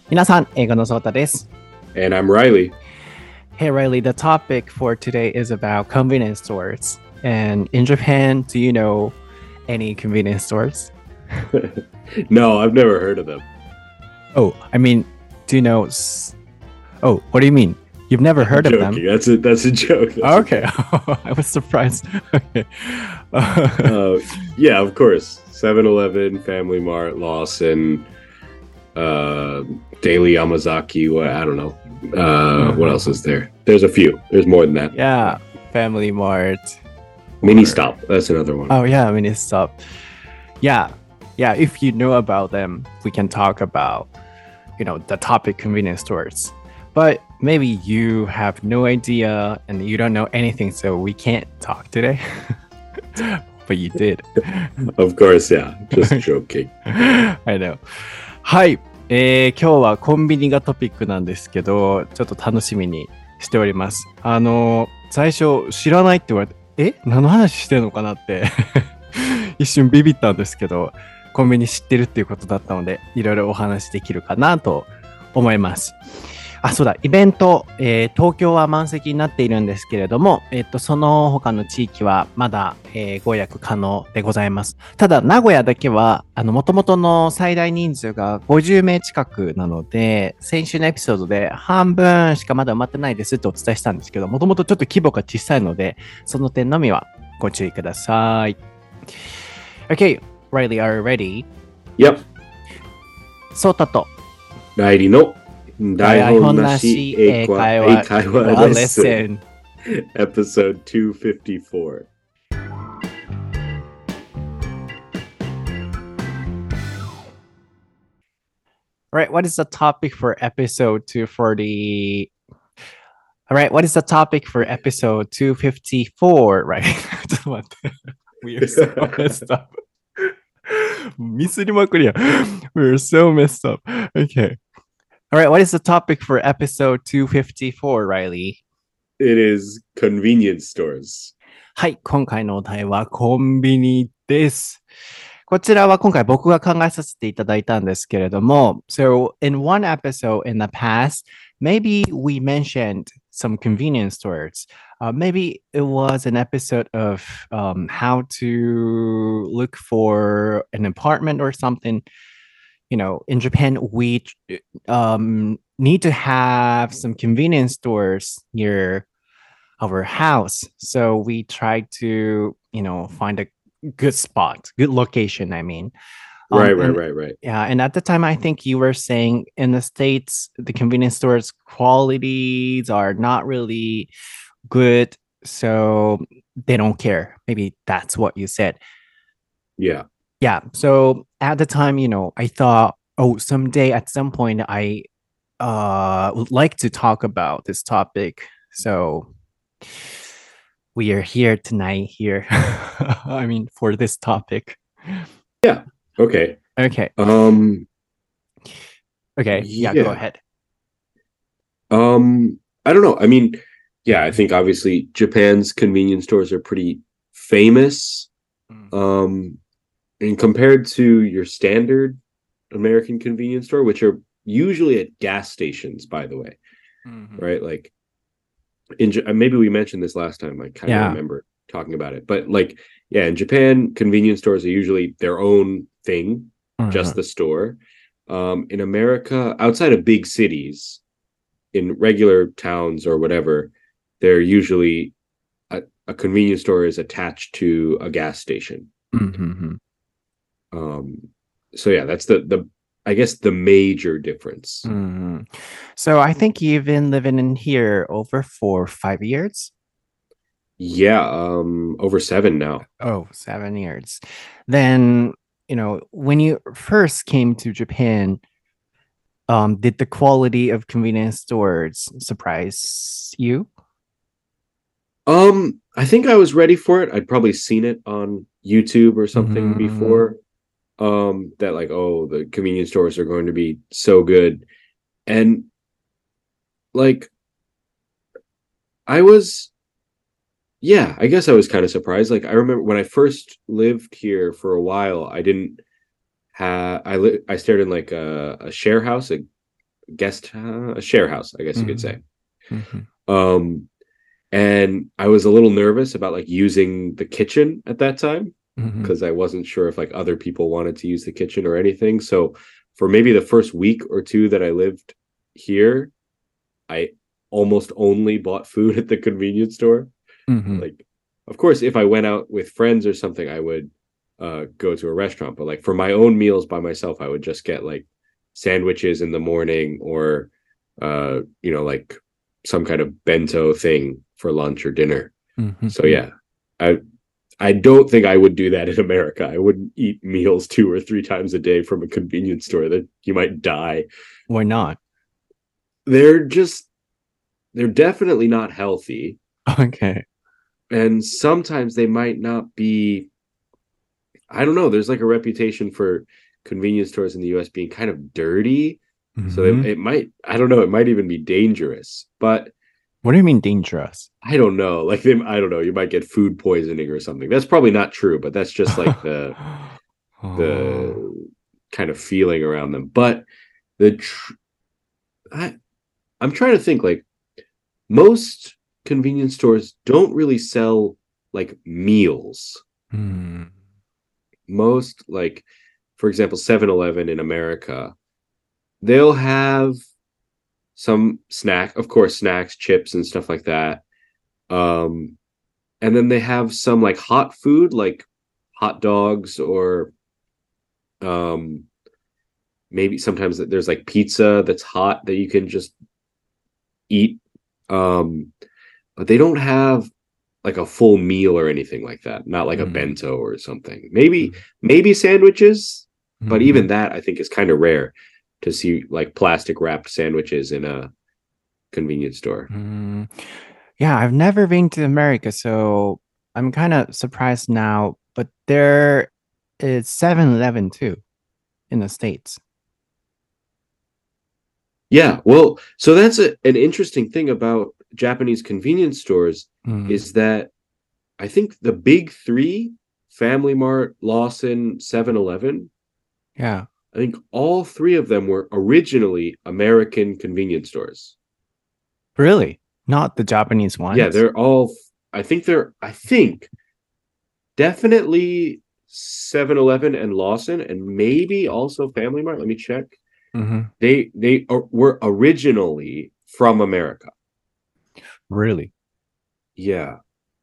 皆さん、英語のソータです。 And I'm Riley. Hey Riley, the topic for today is about convenience stores. And in Japan, do you know any convenience stores? No, I've never heard of them. Oh, I mean, do you know? Oh, what do you mean? You've never I'm heard of them? joking. That's a joke. Oh, okay, I was surprised. Okay. Yeah, of course. 7-Eleven, Family Mart, Lawson, Daily Yamazaki. I don't know. What else is there? There's a few. There's more than that. Yeah, Family Mart. Mini Stop. That's another one. Oh yeah, Mini Stop. Yeah, if you know about them, we can talk about, the topic convenience stores. But maybe you have no idea and you don't know anything, so we can't talk today. But you did. Of course, yeah. Just joking. I know. はい、今日はコンビニがトピックなんですけど、ちょっと楽しみにしております。最初知らないって言われて、何の話してるのかなって一瞬ビビったんですけど、コンビニ知ってるっていうことだったので、いろいろお話できるかなと思います。あ、そうだ、イベント、東京は満席になっているんですけれども、その他の地域はまだ、ご予約可能でございます。ただ、名古屋だけは、元々の最大人数が50名近くなので、先週のエピソードで半分しかまだ埋まってないですってお伝えしたんですけど、もともとちょっと規模が小さいので、その点のみはご注意ください。Okay, Riley, are you ready? Yep. ソータとライリの台本なし英会話レッスン Episode 254. All right, what is the topic for episode 240? All right, what is the topic for episode 254? Right. ちょっと待って。We are so messed up. ミスりまくりや。We are so messed up. Okay. All right, what is the topic for episode 254, Riley? It is convenience stores. はい、今回のお題はコンビニです。こちらは今回僕が考えさせていただいたんですけれども、So in one episode in the past, maybe we mentioned some convenience stores. Maybe it was an episode of how to look for an apartment or something. In Japan, we need to have some convenience stores near our house. So we try to, find a good spot, good location, I mean. Right. Yeah, and at the time, I think you were saying in the States, the convenience stores qualities are not really good, so they don't care. Maybe that's what you said. Yeah. Yeah, so at the time, I thought, oh, someday at some point, I would like to talk about this topic. So we are here tonight here. I mean, for this topic. Yeah. Okay. Okay. Okay. Yeah, go ahead. I don't know. I mean, yeah, I think obviously Japan's convenience stores are pretty famous. And compared to your standard American convenience store, which are usually at gas stations, by the way, right? Like maybe we mentioned this last time. I kind of remember talking about it, but like, yeah, in Japan, convenience stores are usually their own thing, just the store. In America, outside of big cities, in regular towns or whatever, they're usually a convenience store is attached to a gas station. So yeah, that's the I guess the major difference. So I think you've been living in here over 4 or 5 years. Yeah, over 7 now. Oh, 7 years. Then, when you first came to Japan, did the quality of convenience stores surprise you? I think I was ready for it. I'd probably seen it on YouTube or something before. That like, oh, the convenience stores are going to be so good. And like I guess I was kind of surprised. Like I remember when I first lived here for a while, I didn't have I stayed in like a share house, a share house, I guess you could say. Mm-hmm. And I was a little nervous about like using the kitchen at that time because Mm-hmm. I wasn't sure if like other people wanted to use the kitchen or anything. So for maybe the first week or two that I lived here, I almost only bought food at the convenience store. Mm-hmm. Like, of course, if I went out with friends or something, I would go to a restaurant. But like for my own meals by myself, I would just get like sandwiches in the morning or like some kind of bento thing for lunch or dinner. So Mm-hmm. yeah, I don't think I would do that in America. I wouldn't eat meals 2 or 3 times a day from a convenience store. That you might die. Why not? They're just they're definitely not healthy. Okay. And sometimes they might not be. I don't know. There's like a reputation for convenience stores in the US being kind of dirty. So Mm-hmm. it might, I don't know, it might even be dangerous. But What do you mean dangerous? I don't know. Like I don't know, you might get food poisoning or something. That's probably not true, but that's just like Oh. the kind of feeling around them. But the tr- I I'm trying to think like most convenience stores don't really sell like meals. Hmm. Most like for example 7-Eleven in America, they'll have some snack, of course, snacks, chips, and stuff like that. Um, and then they have some like hot food, like hot dogs, or um, maybe sometimes there's like pizza that's hot that you can just eat. Um, but they don't have like a full meal or anything like that. Not like a Mm-hmm. bento or something. Maybe sandwiches, but Mm-hmm. even that I think is kind of rare to see like plastic wrapped sandwiches in a convenience store. Mm. Yeah, I've never been to America, so I'm kind of surprised now. But there is 7-Eleven too in the States. Yeah, well, so that's an interesting thing about Japanese convenience stores Mm. is that I think the big three, Family Mart, Lawson, 7-Eleven, Yeah, I think all three of them were originally American convenience stores. really? Not the Japanese Yeah, ones? they're all, I think definitely 7-Eleven and Lawson, and maybe also Family Mart. Let me check. Mm-hmm. Were originally from America. Really? Yeah.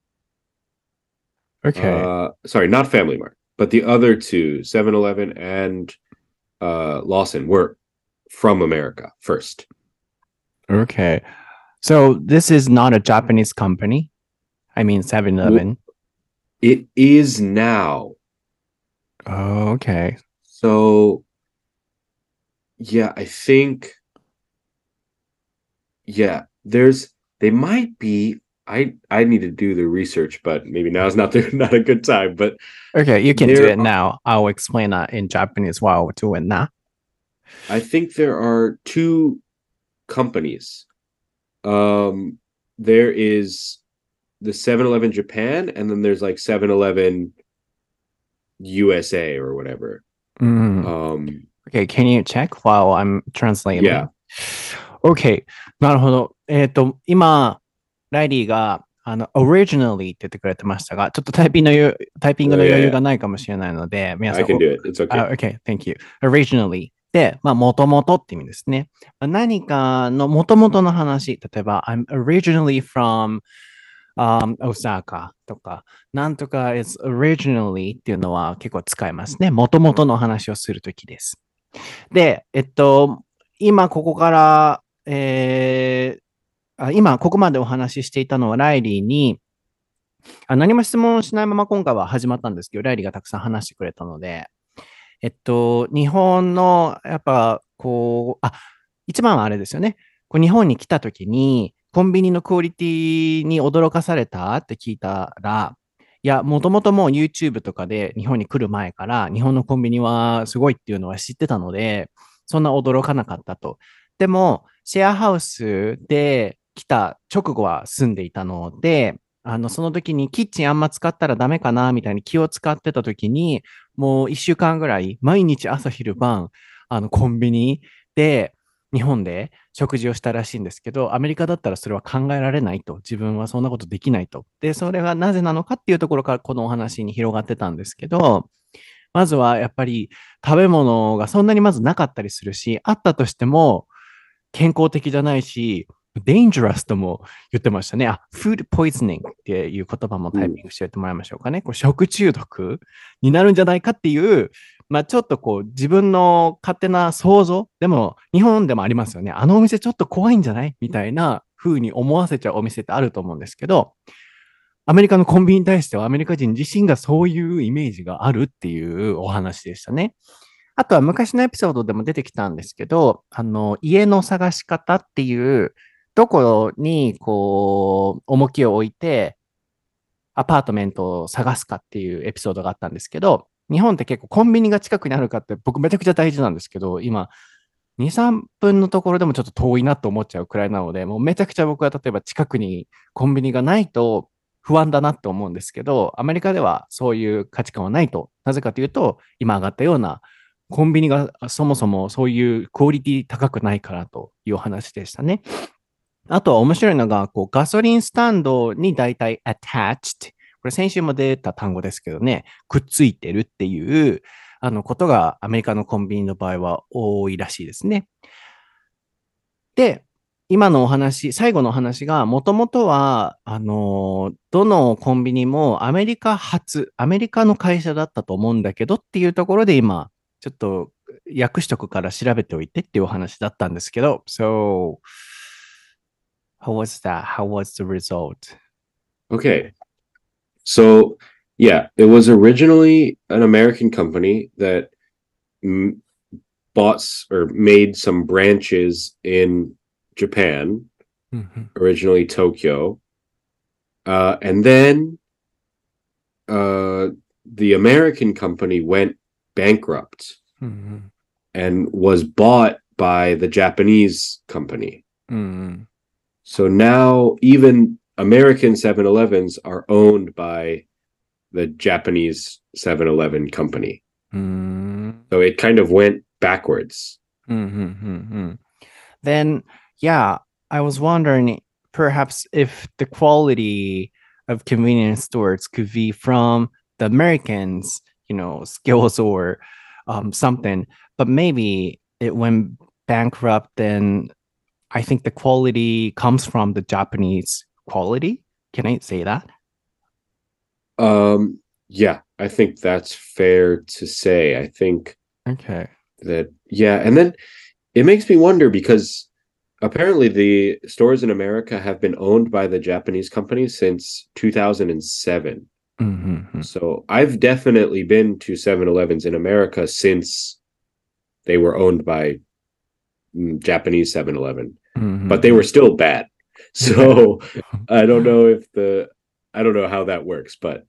Okay. Sorry, not Family Mart, but the other two, 7-Eleven and Lawson, were from America first. Okay. So this is not a Japanese company. I mean, Well, 7-Eleven. it is now. Oh, okay. So yeah, I think yeah, they might be. I need to do the research, but maybe now is not not a good time. But Okay, you can do there it now. I'll explain that in Japanese while doing that. I think there are two companies. Um, there is the 7-Eleven Japan, and then there's like 7-Eleven USA or whatever. Mm. Okay, can you check while I'm translating? Yeah. Okay, なるほど。今、ライリーが、originally って言ってくれてましたが、ちょっとタイピングの余裕 Yeah. がないかもしれないので、皆 I さん、 can do it. It's okay. OK, thank you. Originally で、まあ、もともとって意味ですね。何かのもともとの話、例えば、I'm originally from Osaka とか、なんとか is originally っていうのは結構使いますね。もともとの話をするときです。で、今ここから、今ここまでお話ししていたのはライリーに、何も質問しないまま今回は始まったんですけど、ライリーがたくさん話してくれたので、日本の、やっぱ、一番はあれですよね。日本に来た時に、コンビニのクオリティに驚かされたって聞いたら、いや、もともともう YouTube とかで日本に来る前から、日本のコンビニはすごいっていうのは知ってたので、そんな驚かなかったと。でも、シェアハウスで来た直後は住んでいたので、その時にキッチンあんま使ったらダメかなみたいに気を使ってた時に、もう1週間ぐらい、毎日朝昼晩、コンビニで、 日本で食事をしたらしいんですけど、アメリカだったらそれは考えられないと。自分はそんなことできないと。で、それがなぜなのかっていうところからこのお話に広がってたんですけど、まずはやっぱり食べ物がそんなにまずなかったりするし、あったとしても健康的じゃないし、dangerous とも言ってましたね。food poisoning っていう言葉もタイピングしておいてもらいましょうかね。これ食中毒になるんじゃないかっていう、ちょっとこう自分の勝手な想像、でも日本でもありますよね。あのお店ちょっと怖いんじゃないみたいな風に思わせちゃうお店ってあると思うんですけど、アメリカのコンビニに対してはアメリカ人自身がそういうイメージがあるっていうお話でしたね。あとは昔のエピソードでも出てきたんですけど、家の探し方っていう、どこにこう、重きを置いて、アパートメントを探すかっていうエピソードがあったんですけど、日本って結構コンビニが近くにあるかって僕めちゃくちゃ大事なんですけど、今、2、3分のところでもちょっと遠いなと思っちゃうくらいなので、もうめちゃくちゃ僕は例えば近くにコンビニがないと不安だなって思うんですけど、アメリカではそういう価値観はないと。なぜかというと、今上がったようなコンビニがそもそもそういうクオリティ高くないからというお話でしたね。あとは面白いのが、こうガソリンスタンドに大体 attached。これ先週も出た単語ですけどね、くっついてるっていうことがアメリカのコンビニの場合は多いらしいですね。で、今のお話、最後のお話が、もともとは、どのコンビニもアメリカ発、アメリカの会社だったと思うんだけどっていうところで今、ちょっと訳しとくから調べておいてっていうお話だったんですけど、So, how was that? How was the result? Okay. So, yeah, it was originally an American company that bought or made some branches in Japan, originally Tokyo. And then the American company went bankrupt and was bought by the Japanese company. So now even American 7-Elevens are owned by the Japanese 7-Eleven company. So it kind of went backwards. Then, yeah, I was wondering perhaps if the quality of convenience stores could be from the Americans, skills or something, but maybe it went bankrupt. Then I think the quality comes from the Japanese quality. Can I say that? Yeah, I think that's fair to say. I think okay. that, yeah. And then it makes me wonder because apparently the stores in America have been owned by the Japanese company since 2007. So I've definitely been to 7-Elevens in America since they were owned by Japanese 7-Eleven, but they were still bad. So I don't know how that works, but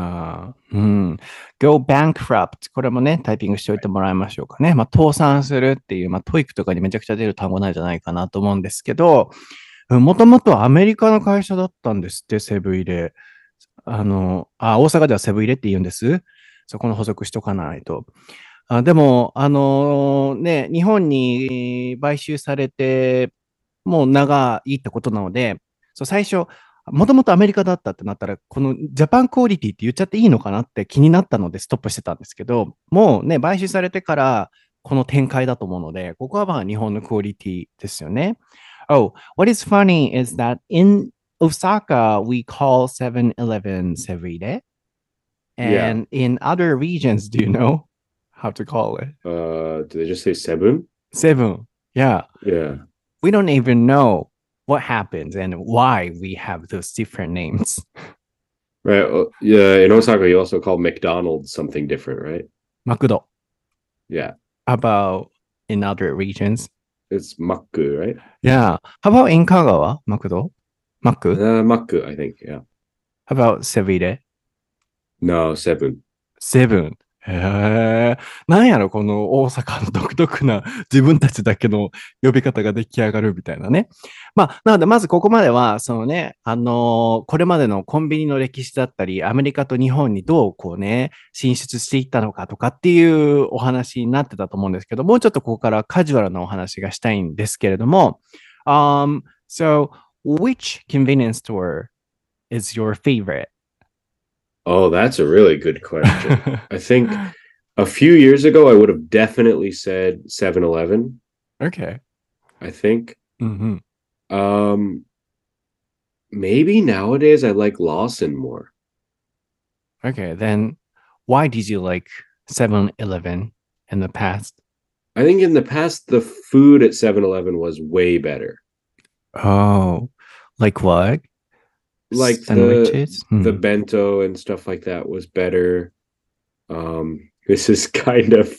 go bankrupt これもね、タイピングしておいてもらいましょうかね。倒産するっていう、トイックとかにめちゃくちゃ出る単語なんじゃないかなと思うんですけど、もともとアメリカの会社だったんですって、セブン入れ。大阪ではセブン入れって言うんです。そこの補足しとかないと。でも、日本に買収されて、もう長いってことなので、最初、もともとアメリカだったってなったら、このジャパンクオリティって言っちゃっていいのかなって気になったのでストップしてたんですけど、もうね、買収されてからこの展開だと思うので、ここは日本のクオリティですよね。Oh, what is funny is that in Osaka, we call 7-Eleven Sevide. And in other regions, do you know how to call it? Do they just say seven? Seven. Yeah. Yeah. We don't even know what happens and why we have those different names. Right. Yeah. In Osaka, you also call McDonald's something different, right? Makudo. Yeah. How about in other regions? It's Makku, right? Yeah. How about in Kagawa? Makudo? Maku? Makku, I think. Yeah. How about Sevide? No, seven. Seven. なんやろ、この大阪の独特な自分たちだけの呼び方が出来上がるみたいなね。まあ、なので、まずここまでは、そのね、これまでのコンビニの歴史だったり、アメリカと日本にどうこうね、進出していったのかとかっていうお話になってたと思うんですけど、もうちょっとここからカジュアルなお話がしたいんですけれども、so, which convenience store is your favorite? Oh, that's a really good question. I think a few years ago, I would have definitely said 7-Eleven. Okay. I think. Mm-hmm. Um, maybe nowadays I like Lawson more. Okay, then why did you like 7-Eleven in the past? I think in the past, the food at 7-Eleven was way better. Oh, like what? Like Sandwiches? the bento and stuff like that was better. This is kind of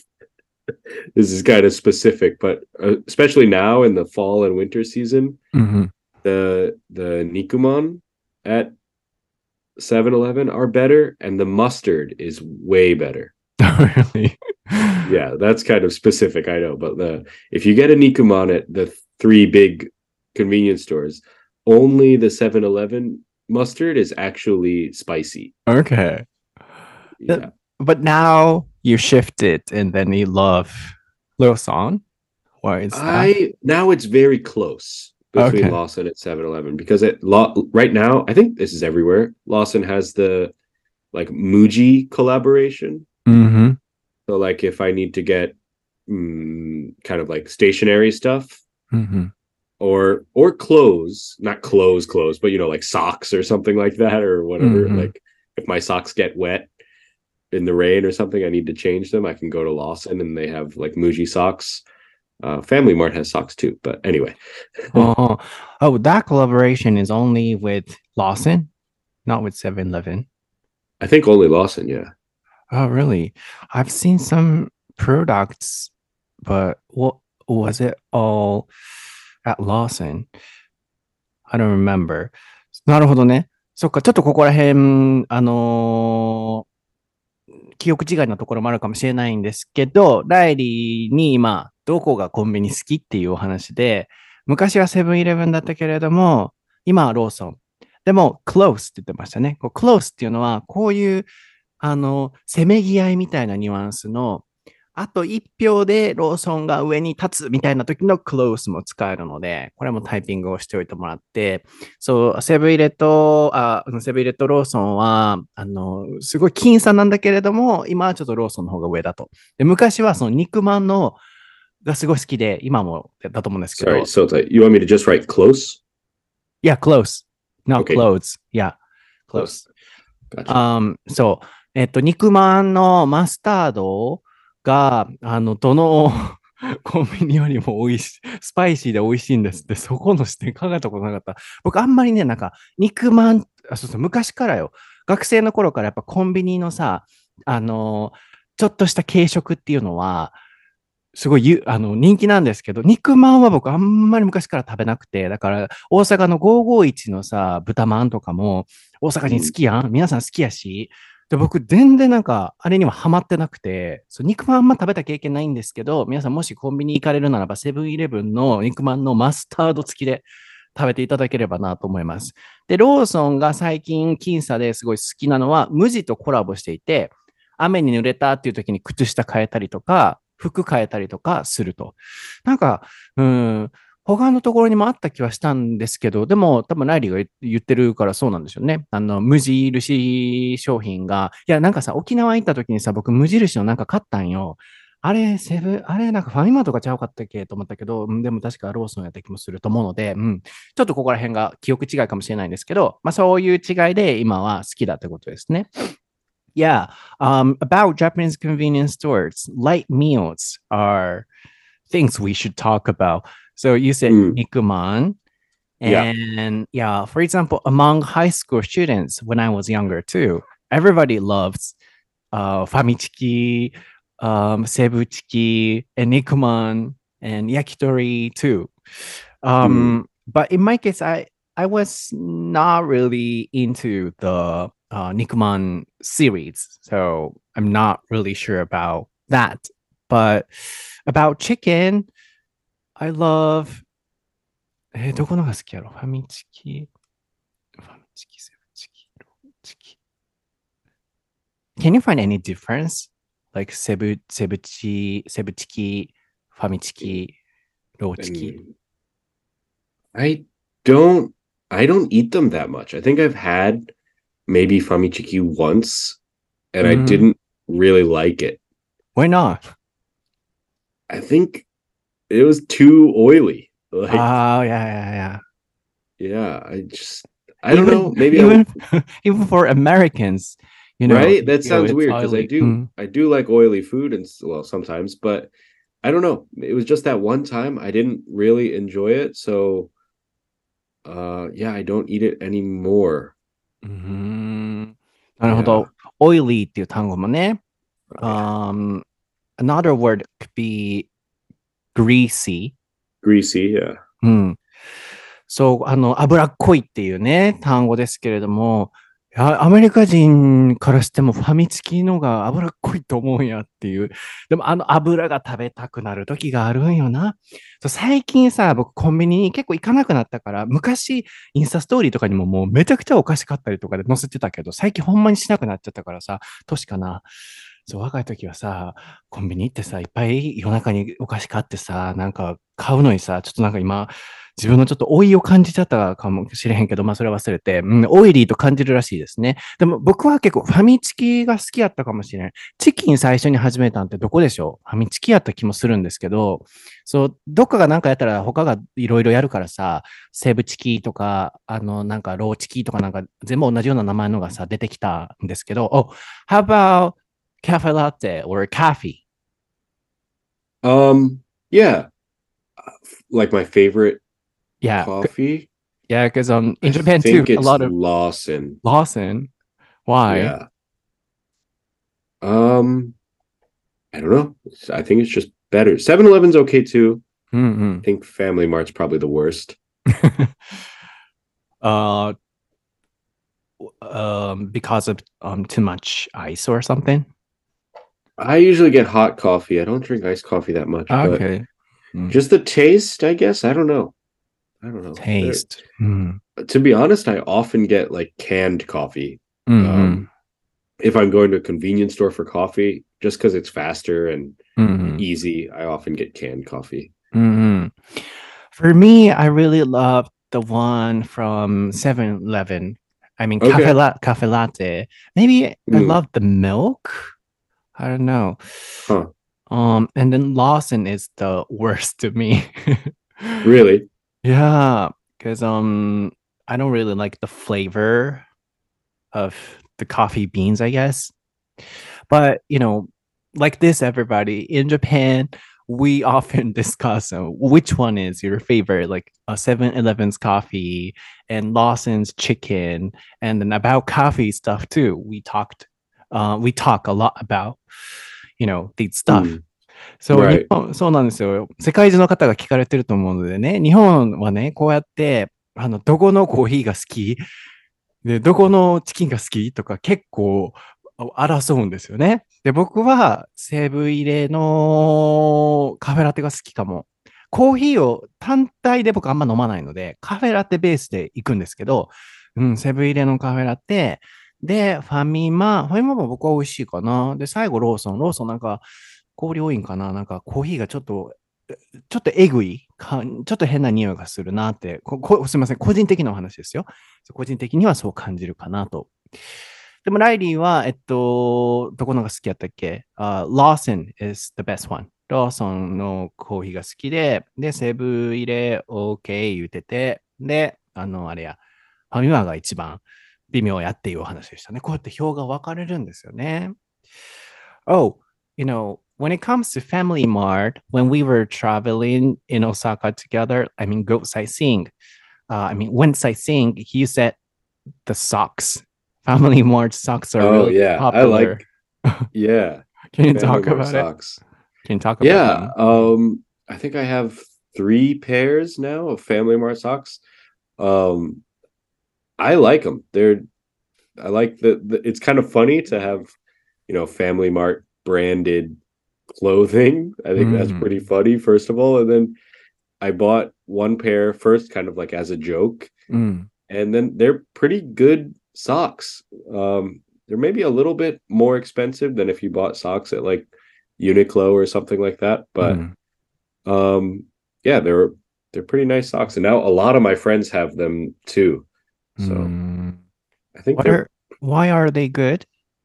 specific, but especially now in the fall and winter season, Mm-hmm. the Nikuman at 7-Eleven are better, and the mustard is way better. Really? Yeah, that's kind of specific, I know, but if you get a Nikuman at the three big convenience stores, only the 7-Eleven mustard is actually spicy. Okay. Yeah. But now you shifted and then you love Little Song. Why is that? Now it's very close between Okay. Lawson and 7-Eleven because right now, I think this is everywhere. Lawson has the like Muji collaboration. Mm-hmm. So like if I need to get kind of like stationary stuff, Mm-hmm. or clothes, not clothes, but like socks or something like that or whatever. Mm-hmm. Like if my socks get wet in the rain or something, I need to change them. I can go to Lawson and they have like Muji socks. Family Mart has socks too, but anyway. Oh, that collaboration is only with Lawson, not with 7-Eleven. I think only Lawson, yeah. Oh, really? I've seen some products, but what was it all at Lawson? I don't remember. なるほどね。そっか、ちょっとここら辺、記憶違いなところもあるかもしれないんですけど、ライリーに今、どこがコンビニ好きっていうお話で、昔はセブンイレブンだったけれども、今はローソン。でも、クロースって言ってましたね。クロースっていうのは、こういう、せめぎ合いみたいなニュアンスの、あと1票でローソンが上に立つみたいな時のクロースも使えるので、これもタイピングをしておいてもらって、そう、セブン入れとローソンは、すごい僅差なんだけれども、今はちょっとローソンの方が上だと。で、昔はその肉まんのがすごい好きで、今もだと思うんですけど。 Sorry, so you want me to just write close? Yeah, close. Not Okay. clothes. Yeah, close. Gotcha. そう。肉まんのマスタードが、どのコンビニよりも美味しい、スパイシーで美味しいんですって、そこの視点考えたことなかった。僕あんまりね、なんか、肉まん、そうそう、昔からよ。学生の頃からやっぱコンビニのさ、ちょっとした軽食っていうのは、すごい人気なんですけど、肉まんは僕あんまり昔から食べなくて、だから大阪の551のさ、豚まんとかも大阪人好きやん、皆さん好きやし、で、僕全然なんかあれにはハマってなくて、肉まんあんま食べた経験ないんですけど、皆さんもしコンビニ行かれるならばセブンイレブンの肉まんのマスタード付きで食べていただければなと思います。で、ローソンが最近僅差ですごい好きなのは、無地とコラボしていて、雨に濡れたっていう時に靴下変えたりとか、服変えたりとかすると。なんか、他のところにもあった気はしたんですけど、でも多分ライリーが言ってるからそうなんですよね。無印商品が、いや、なんかさ、沖縄行った時にさ、僕無印のなんか買ったんよ。あれ、あれ、なんかファミマとかちゃうかったっけと思ったけど、でも確かローソンやった気もすると思うので、ちょっとここら辺が記憶違いかもしれないんですけど、まあそういう違いで今は好きだってことですね。Yeah. About Japanese convenience stores, light meals are things we should talk about. So you said Nikuman. And yeah, for example, among high school students, when I was younger too, everybody loves Famichiki, Sebuchiki, and Nikuman, and Yakitori too. But in my case, I was not really into the Nikuman series, so I'm not really sure about that. But about chicken, I love どこのが好きやろファミチキ、セブチキ、ローチキ。Can you find any difference? Like セブチキ、ファミチキ、ローチキ。 I don't eat them that much. I think I've had maybe famichiki once and I didn't really like it. Why not? I think it was too oily. Like, oh, yeah. Yeah, I don't know. Maybe even for Americans, you know, right? That sounds weird because oily. I do like oily food and well sometimes, but I don't know. It was just that one time I didn't really enjoy it, so yeah, I don't eat it anymore. なるほど。oily っていう単語もね。Another word could be greasy. Greasy, yeah. そう、脂っこいっていうね、単語ですけれども、アメリカ人からしてもファミチキのが脂っこいと思うんやっていう。でも油が食べたくなる時があるんよな。最近さ、僕コンビニに結構行かなくなったから、昔インスタストーリーとかにももうめちゃくちゃお菓子買ったりとかで載せてたけど、最近ほんまにしなくなっちゃったからさ、年かな。そう、若い時はさ、コンビニ行ってさ、いっぱい夜中にお菓子買ってさ、なんか買うのにさ、ちょっとなんか今、自分のちょっと老いを感じちゃったかもしれへんけど、まあそれ忘れて、オイリーと感じるらしいですね。でも僕は結構ファミチキが好きやったかもしれない。チキン最初に始めたんってどこでしょう？ファミチキやった気もするんですけど、そう、どっかがなんかやったら他がいろいろやるからさ、セブチキとか、なんかローチキとかなんか全部同じような名前のがさ、出てきたんですけど、Oh, how about cafe latte or coffee? Yeah. Like my favorite Yeah. coffee. Yeah, because in Japan too, a lot of Lawson. Lawson. Why? Yeah. I don't know. I think it's just better. 7-Eleven's okay too. I think Family Mart's probably the worst. Because of too much ice or something. I usually get hot coffee. I don't drink iced coffee that much. Okay. Just the taste, I guess. I don't know. Taste. To be honest, I often get like canned coffee. If I'm going to a convenience store for coffee, just because it's faster and easy, I often get canned coffee. For me, I really love the one from 7-Eleven. I mean, Okay. cafe latte. Maybe I love the milk. I don't know. Huh. And then Lawson is the worst to me. Really? Yeah, because I don't really like the flavor of the coffee beans, I guess. But you know, like this, everybody in Japan, we often discuss which one is your favorite, like 7-Eleven's coffee and Lawson's chicken, and then about coffee stuff too. We talk a lot about, these stuff. そう、 Right. そうなんですよ。世界中の方が聞かれてると思うのでね、日本はね、こうやって、どこのコーヒーが好きで、どこのチキンが好きとか結構争うんですよね。で、僕は西武入れのカフェラテが好きかも。コーヒーを単体で僕あんま飲まないので、カフェラテベースで行くんですけど、セブン入れのカフェラテ、で、ファミマも僕は美味しいかな。で、最後ローソンなんか、氷多いんかななんかコーヒーがちょっとえぐいか、ちょっと変な匂いがするなって、すみません、個人的なお話ですよ。個人的にはそう感じるかなと。でもライリーは、どこのが好きやったっけ、Lawson is the best one. ローソンのコーヒーが好きで、セブン入れ OK 言うてて、で、あれや、ファミマが一番微妙やっていうお話でしたね。こうやって表が分かれるんですよね。Oh, when it comes to Family Mart, when we were traveling in Osaka together, I mean, go sightseeing. When sightseeing, you said the socks. Family Mart socks are really popular. Yeah. Can you talk about socks. Can you talk about them? I think I have 3 pairs now of Family Mart socks. I like them. I like it's kind of funny to have, Family Mart branded clothing. I think that's pretty funny, first of all. And then I bought one pair first, kind of like as a joke. And then they're pretty good socks. They're maybe a little bit more expensive than if you bought socks at like Uniqlo or something like that. But yeah, they're pretty nice socks. And now a lot of my friends have them too. So I think why are they good?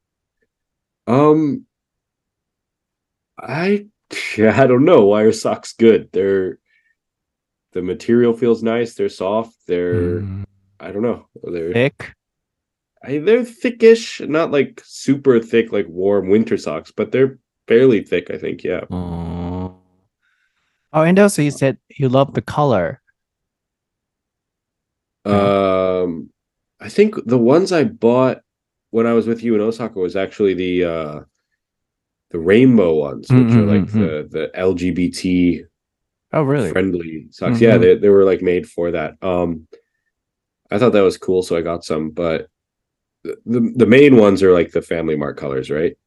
I don't know. Why are socks good? The material feels nice. They're soft. I don't know. They're thick. They're thickish, not like super thick, like warm winter socks, but they're fairly thick, I think. Yeah. Oh, and also you said you love the color. I think the ones I bought when I was with you in Osaka was actually the rainbow ones, which are like the LGBT really friendly socks. Yeah, they were like made for that. I thought that was cool, so I got some, but the main ones are like the Family Mart colors, right?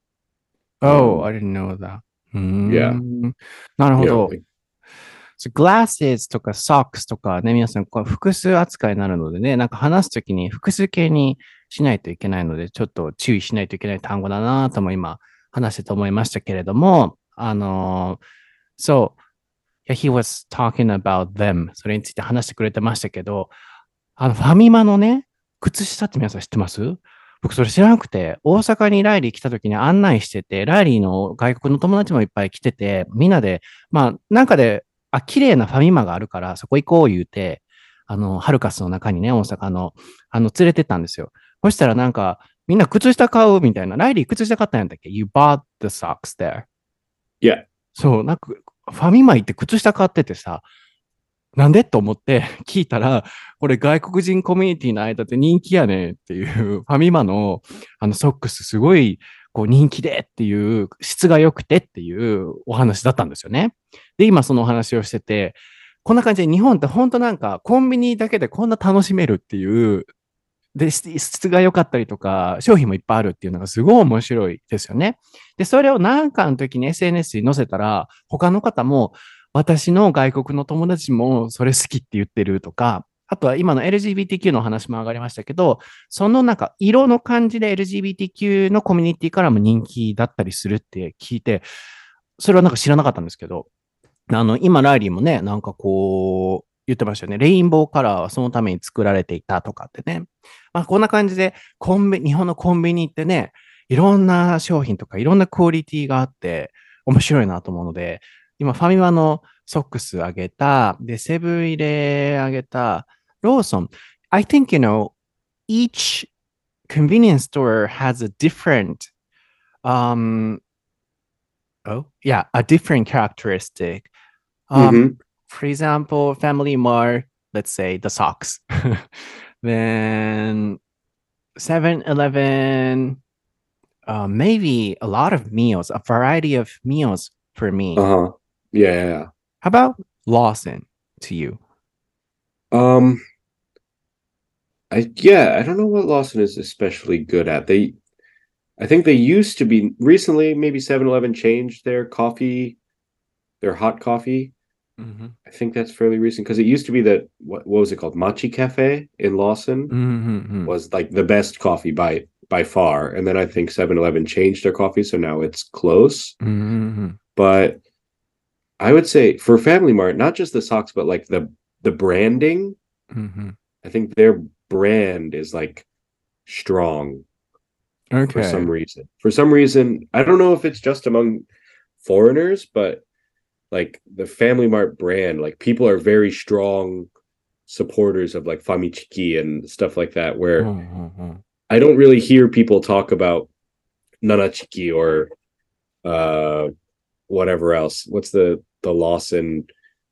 Oh, I didn't know that. Yeah. なるほど。glasses とか socks とかね、皆さんこう複数扱いになるのでね、なんか話すときに複数形にしないといけないので、ちょっと注意しないといけない単語だなとも今話してと思いましたけれども、yeah, he was talking about them. それについて話してくれてましたけど、ファミマのね、靴下って皆さん知ってます？僕それ知らなくて、大阪にライリー来た時に案内してて、ライリーの外国の友達もいっぱい来てて、みんなで、まあ、なんかで、綺麗なファミマがあるから、そこ行こう言うて、ハルカスの中にね、大阪の、連れてったんですよ。そしたらなんか、みんな靴下買うみたいな。ライリー靴下買ったんやったっけ？ You bought the socks there. Yeah. そう、なんか、ファミマ行って靴下買っててさ、なんでと思って聞いたら、これ外国人コミュニティの間で人気やねっていう、ファミマのソックスすごいこう人気でっていう、質が良くてっていうお話だったんですよね。で、今そのお話をしてて、こんな感じで日本って本当なんかコンビニだけでこんな楽しめるっていう、で、質が良かったりとか、商品もいっぱいあるっていうのがすごい面白いですよね。で、それを何かの時に SNS に載せたら、他の方も、私の外国の友達もそれ好きって言ってるとか、あとは今の LGBTQ の話も上がりましたけど、そのなんか色の感じで LGBTQ のコミュニティからも人気だったりするって聞いて、それはなんか知らなかったんですけど、今ライリーもね、なんかこう、言ってましたよね。レインボーカラーはそのために作られていたとかってね。まあこんな感じで、日本のコンビニってね、いろんな商品とかいろんなクオリティがあって、面白いなと思うので、今ファミマのソックスあげた、で、セブン入れあげた、ローソン。I think, each convenience store has a different, a different characteristic. For example, Family Mart, let's say the socks. Then 7-Eleven, maybe a lot of meals, a variety of meals for me. Yeah. How about Lawson to you? I don't know what Lawson is especially good at. I think they used to be recently, maybe 7-Eleven changed their coffee, their hot coffee. I think that's fairly recent because it used to be that what was it called? Machi Cafe in Lawson was like the best coffee by far. And then I think 7-Eleven changed their coffee, so now it's close. But I would say for Family Mart, not just the socks, but like the branding. I think their brand is like strong. Okay. For some reason, I don't know if it's just among foreigners, but like the Family Mart brand, like people are very strong supporters of like Famichiki and stuff like that, where I don't really hear people talk about Nanachiki or whatever else. What's the Lawson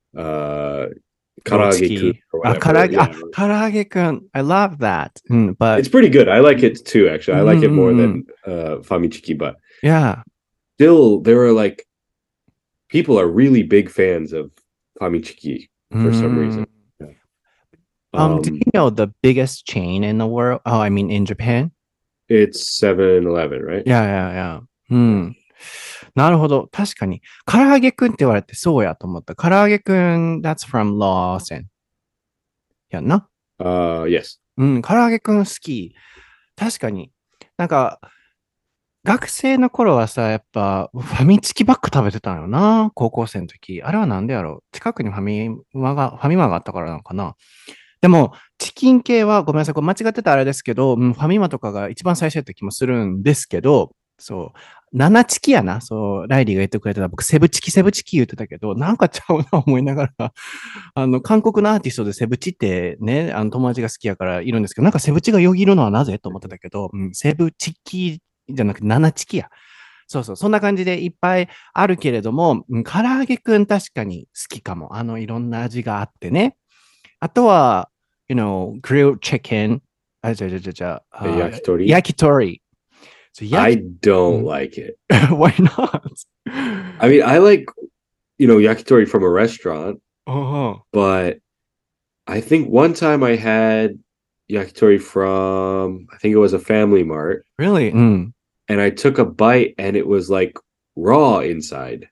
Karage-kun or whatever. Karage-kun. I love that. But it's pretty good. I like it too, actually. I like it more than Famichiki, but yeah. Still, there are like people are really big fans of Famichiki for some reason. Do you know the biggest chain in the world? Oh, I mean in Japan? It's 7-Eleven, right? Yeah. なるほど。確かに。唐揚げくんって言われてそうやと思った。唐揚げくん、that's from Lawson. やんな。 Yes. うん、唐揚げくん好き。確かに。なんか、学生の頃はさ、やっぱファミチキばっか食べてたんよな。高校生の時。あれはなんでやろう。近くにファミマがあったからなのかな。でも、チキン系は、ごめんなさい、これ間違ってたらあれですけど、ファミマとかが一番最初やった気もするんですけど、そう、7チキやな。そう、ライリーが言ってくれてた。僕、セブチキ言ってたけど、なんかちゃうな思いながら、韓国のアーティストでセブチってね、友達が好きやからいるんですけど、なんかセブチがよぎるのはなぜと思ってたけど、セブチキじゃなくて7チキや。そうそう、そんな感じでいっぱいあるけれども、唐揚げくん確かに好きかも。いろんな味があってね。あとは、grilled chicken. 焼き鳥。焼き鳥。 I don't like it. Why not? I mean, I like, yakitori from a restaurant, Uh-huh. but I think one time I had yakitori from, I think it was a Family Mart. Really? And I took a bite and it was like raw inside.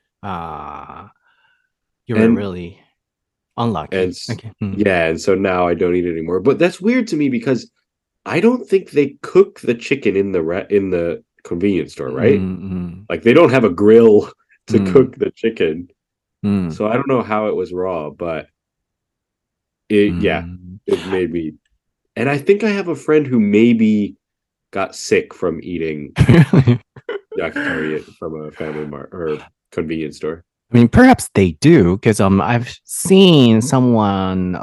You were really unlucky. And Okay. yeah, and so now I don't eat it anymore. But that's weird to me because I don't think they cook the chicken in the convenience store, right? Like they don't have a grill to cook the chicken. So I don't know how it was raw, but it made me. And I think I have a friend who maybe got sick from eating yakitori from a Family Mart or convenience store. I mean, perhaps they do, because I've seen someone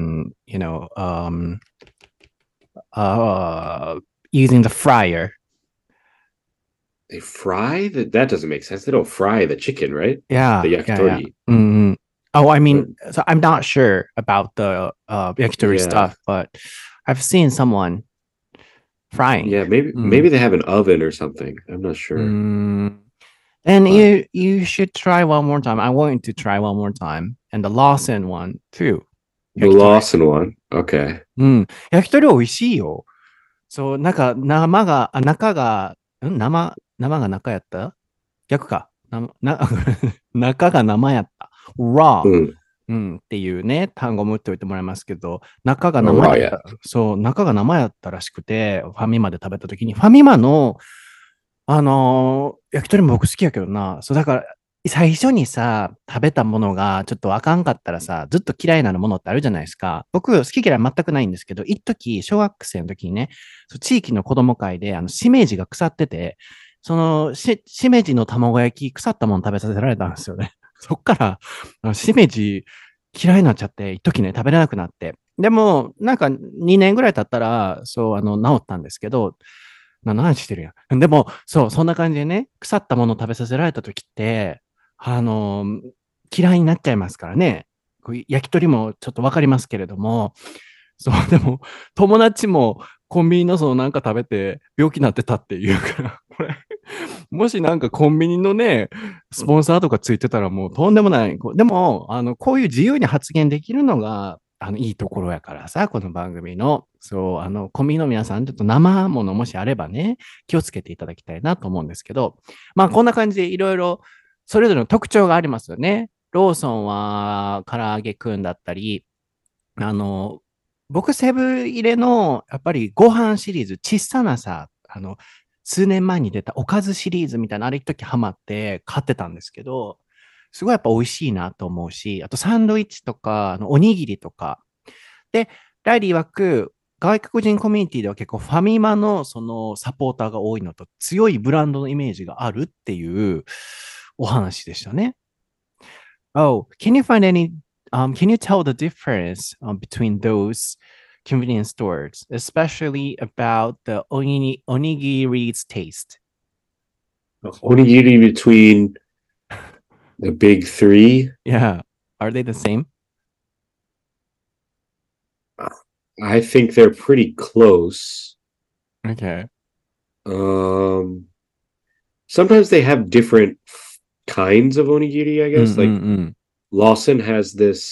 using the fryer. They fry that? That doesn't make sense. They don't fry the chicken, right? Yeah, the yakitori. Yeah. Mm-hmm. Oh, I mean, so I'm not sure about the yakitori stuff, but I've seen someone frying. Yeah, maybe they have an oven or something. I'm not sure. And you should try one more time. I want you to try one more time. And the Lawson one too. The Lawson one? Okay. 焼き鳥美味しいよ。そう、なんか生が中やった逆か。中が生やった。raw、っていうね、単語も打っておいてもらいますけど、中が生やった。そう、中が生やったらしくて、ファミマで食べたときに、ファミマの、焼き鳥も僕好きやけどな。そう、だから、最初にさ、食べたものがちょっとあかんかったらさ、ずっと嫌いなものってあるじゃないですか。僕、好き嫌い全くないんですけど、一時、小学生の時にね、地域の子供会で、しめじが腐ってて、そのしめじの卵焼き、腐ったもの食べさせられたんですよね。そっから、しめじ嫌いになっちゃって、一時ね、食べれなくなって。でも、なんか2年ぐらい経ったら、そう、治ったんですけど、何の話してるやん。でも、そう、そんな感じでね、腐ったものを食べさせられた時って、嫌いになっちゃいますからね。焼き鳥もちょっとわかりますけれども、そう、でも、友達もコンビニのなんか食べて病気になってたっていうから、これ、もしなんかコンビニのね、スポンサーとかついてたらもうとんでもない。でも、こういう自由に発言できるのが、いいところやからさ、この番組の。そう、コンビニの皆さん、ちょっと生ものもしあればね、気をつけていただきたいなと思うんですけど、まあ、こんな感じでいろいろ、それぞれの特徴がありますよね。ローソンは、唐揚げくんだったり、僕、セブ入れの、やっぱりご飯シリーズ、小さなさ、数年前に出たおかずシリーズみたいな、あれ一時ハマって買ってたんですけど、すごいやっぱ美味しいなと思うし、あとサンドイッチとか、おにぎりとか。で、ライリー曰く、外国人コミュニティでは結構ファミマのそのサポーターが多いのと強いブランドのイメージがあるっていうお話でしたね。Oh, can you tell the difference between those convenience stores, especially about the onigiri's taste? Onigiri between the big three? Yeah. Are they the same? I think they're pretty close. Okay. Sometimes they have different kinds of onigiri, I guess. Like Lawson has this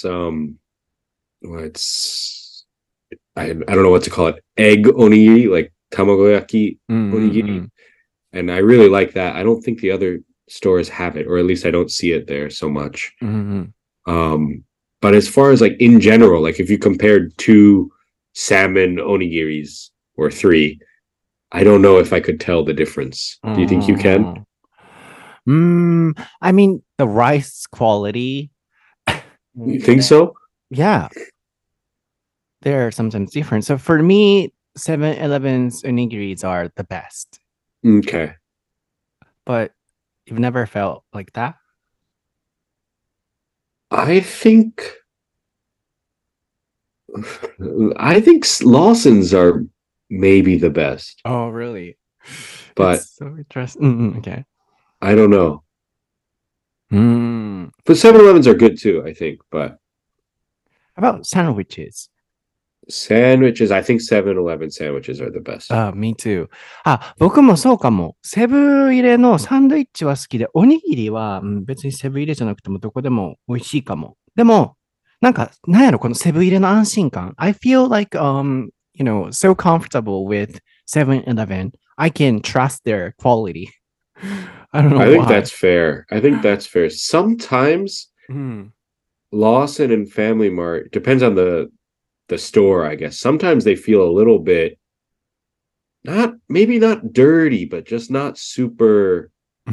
I don't know what to call it. Egg onigiri, like tamagoyaki onigiri. And I really like that. I don't think the other stores have it, or at least I don't see it there so much. Mm-hmm. But as far as like in general, like if you compared 2 salmon onigiris or 3, I don't know if I could tell the difference. Do you think you can? I mean, the rice quality. You think so? Yeah, they're sometimes different. So for me, 7-Eleven's onigiris are the best. Okay. But you've never felt like that? I think Lawson's are maybe the best, Oh, really? but It's so interesting. Okay. I don't know. Mm. But 7-Elevens are good too, I think. But How about sandwiches? sandwiches, I think 7-Eleven sandwiches are the best. Me too. 僕もそうかも。セブン入れのサンドイッチは好きで、おにぎりは、別にセブン入れじゃなくてもどこでも美味しいかも。でも、なんやろ、このセブン入れの安心感。I feel like, so comfortable with 7-Eleven. I can trust their quality. I don't know I think why. that's fair. I think that's fair. Sometimes Lawson and Family Mart depends on the store, I guess. Sometimes they feel a little bit maybe not dirty, but just not super.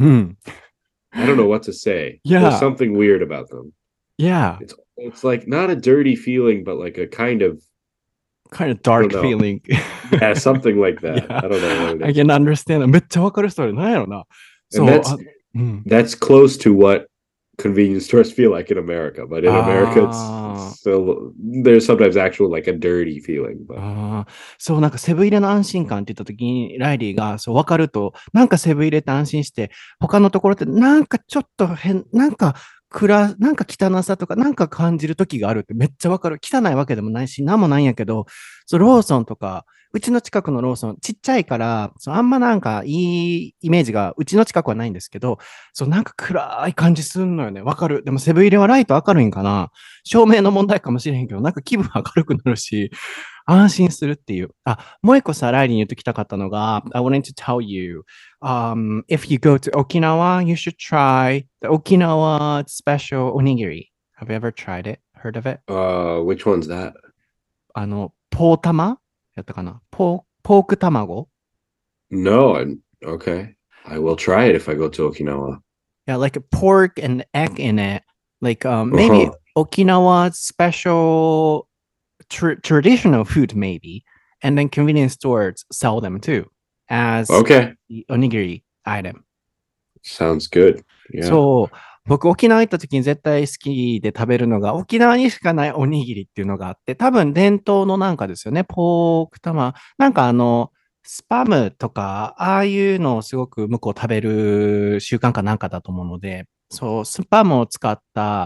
I don't know what to say. Yeah. There's something weird about them. Yeah. It's like not a dirty feeling, but like a kind of dark feeling. Yeah, something like that. Yeah. I don't know what it is. I can understand. めっちゃわかるそれ。なんやろな。 And that's close to what convenience stores feel like in America, but in America it's still there's sometimes actual like a dirty feeling. But. そう、なんかセブン入れの安心感って言った時にライリーがそう分かると、なんかセブン入れって安心して、他のところってなんかちょっと変、なんか汚さとかなんか感じる時があるってめっちゃ分かる。汚いわけでもないし、なんもないんやけど、そうローソンとか、うちの近くのローソン、ちっちゃいから、あんまなんかいいイメージが、うちの近くはないんですけど、なんか暗い感じすんのよね。わかる。でもセブン入れはライト明るいんかな。照明の問題かもしれへんけど、なんか気分明るくなるし、安心するっていう。もう一個さ、ライリーに言ってきたかったのが、I wanted to tell you, if you go to Okinawa, you should try the Okinawa special onigiri. Have you ever tried it? Heard of it? Which one's that? ポータマやったかなポーク卵 No, okay. I will try it if I go to Okinawa. Yeah, like a pork and egg in it. Like maybe Okinawa's special traditional food, maybe. And then convenience stores sell them too as the onigiri item. Sounds good. Yeah. そう。僕、沖縄行った時に絶対好きで食べるのが、沖縄にしかないおにぎりっていうのがあって、多分伝統のなんかですよね。ポーク玉。なんかスパムとか、ああいうのをすごく向こう食べる習慣かなんかだと思うので、そう、スパムを使った、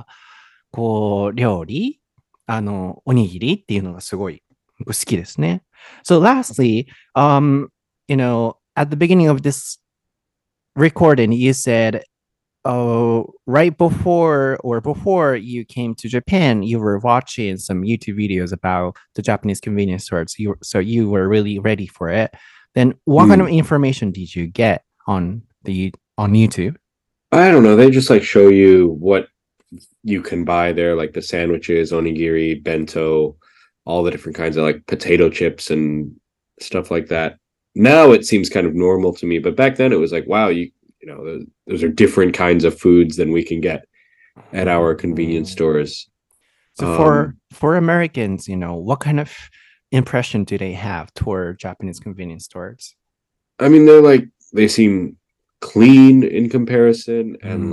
料理、おにぎりっていうのがすごい好きですね。So lastly, at the beginning of this recording, you said, right before you came to Japan, you were watching some YouTube videos about the Japanese convenience stores. So you were really ready for it. Then what kind of information did you get on YouTube? I don't know. They just like show you what you can buy there, like the sandwiches, onigiri, bento, all the different kinds of like potato chips and stuff like that. Now it seems kind of normal to me, but back then it was like, wow, those are different kinds of foods than we can get at our convenience stores. So for Americans, what kind of impression do they have toward Japanese convenience stores? I mean, they seem clean in comparison, and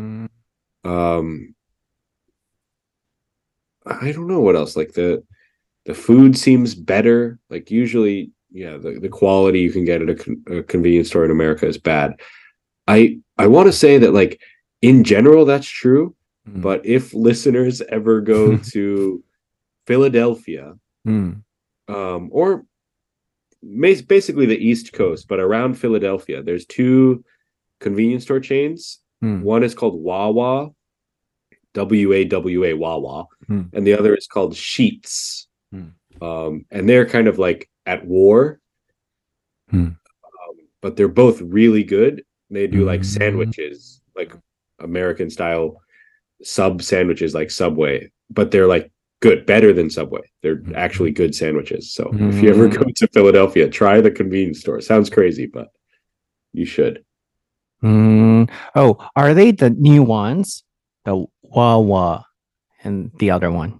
I don't know what else. Like the food seems better. Like usually, yeah, the quality you can get at a convenience store in America is bad. I want to say that like in general that's true, but if listeners ever go to Philadelphia, or basically the East Coast, but around Philadelphia, there's 2 convenience store chains. One is called Wawa, WAWA, Wawa, and the other is called Sheetz. And they're kind of like at war, but they're both really good. They do like sandwiches like American style sub sandwiches like Subway, but they're like good, better than Subway. They're actually good sandwiches. So if you ever go to Philadelphia, try the convenience store. Sounds crazy, but you should. Oh, are they the new ones? The Wawa and the other one?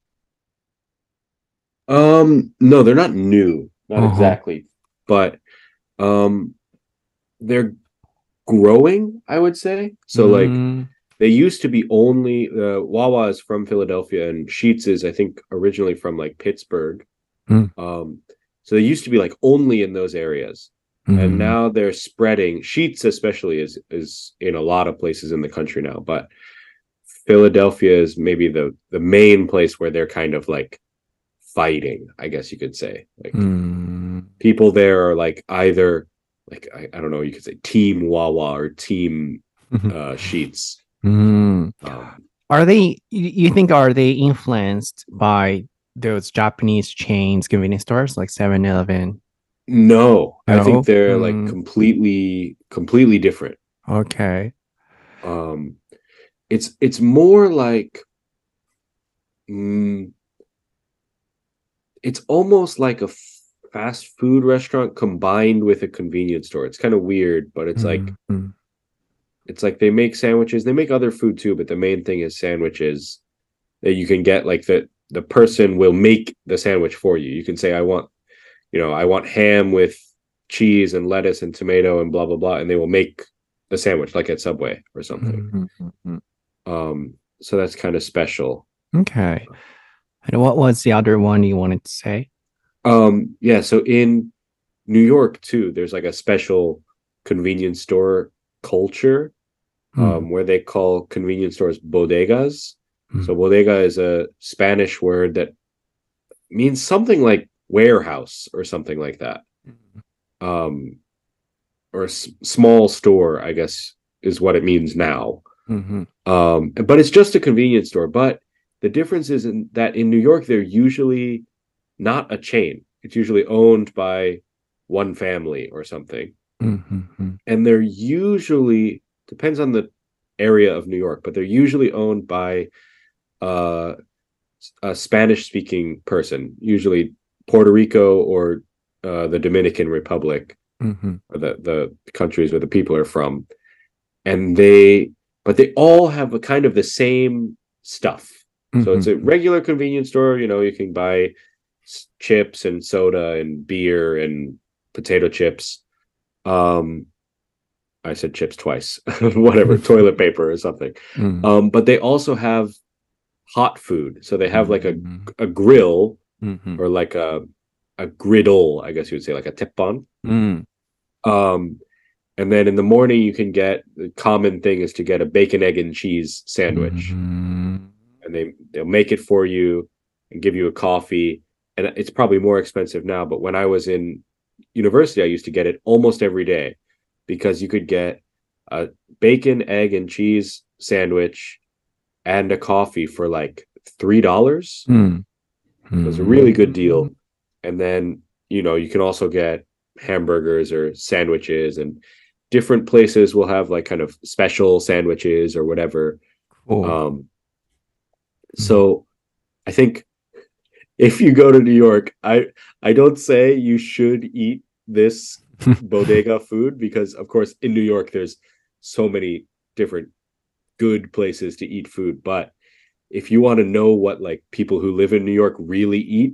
No, they're not new, not Uh-huh. exactly, but um, they're growing, I would say. So like Mm, they used to be only Wawa is from Philadelphia and Sheets is I think originally from like Pittsburgh. mm, Um, so they used to be like only in those areas, and mm, now they're spreading. Sheets especially is in a lot of places in the country now, but Philadelphia is maybe the main place where they're kind of like fighting, I guess you could say. Like mm. people there are like either like I don't know, you could say team Wawa or team Sheets. Mm. Um, Are they, you think, are they influenced by those Japanese chains, convenience stores like 7-Eleven? no, I think No? they're like completely different. Okay. Um, it's more like mm, it's almost like a fast food restaurant combined with a convenience store. It's kind of weird, but Mm, it's like they make sandwiches. They make other food too, but the main thing is sandwiches that you can get. Like the person will make the sandwich for you. You can say, I want ham with cheese and lettuce and tomato and blah blah blah, and they will make the sandwich like at Subway or something. mm. So that's kind of special. Okay. And what was the other one you wanted to say? Yeah, so in New York too, there's like a special convenience store culture Mm, where they call convenience stores bodegas. So mm, bodega is a Spanish word that means something like warehouse or something like that. Um, or small store, I guess, is what it means now. mhm, But it's just a convenience store. But the difference is in that in New York, they're usually not a chain. It's usually owned by one family or something. mhm, And they're usually, depends on the area of New York, but they're usually owned by uh, a Spanish speaking person, usually Puerto Rico or the Dominican Republic, mhm, or the countries where the people are from. And but they all have a kind of the same stuff. So it's a mhm, regular convenience store. You can buy chips and soda and beer and potato chips. Um, I said chips twice, whatever, toilet paper or something. mm, But they also have hot food. So they have like mm, a grill mhm, or like a griddle, I guess you would say, like a teppon. mm, Um, and then in the morning you can get the common thing is to get a bacon, egg, and cheese sandwich. mhm. And they'll make it for you and give you a coffee. And it's probably more expensive now, but when I was in university, I used to get it almost every day because you could get a bacon, egg, and cheese sandwich and a coffee for like $3. Mm, So it's a really good mm. deal. And then, you can also get hamburgers or sandwiches, and different places will have like kind of special sandwiches or whatever. Cool. Um, Mm. so I think if you go to New York, I don't say you should eat this bodega food because of course in New York there's so many different good places to eat food, but if you want to know what like people who live in New York really eat,